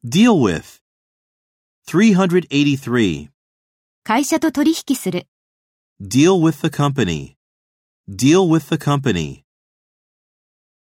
Deal with. 383. 会社と取引する。 Deal with the company. Deal with the company.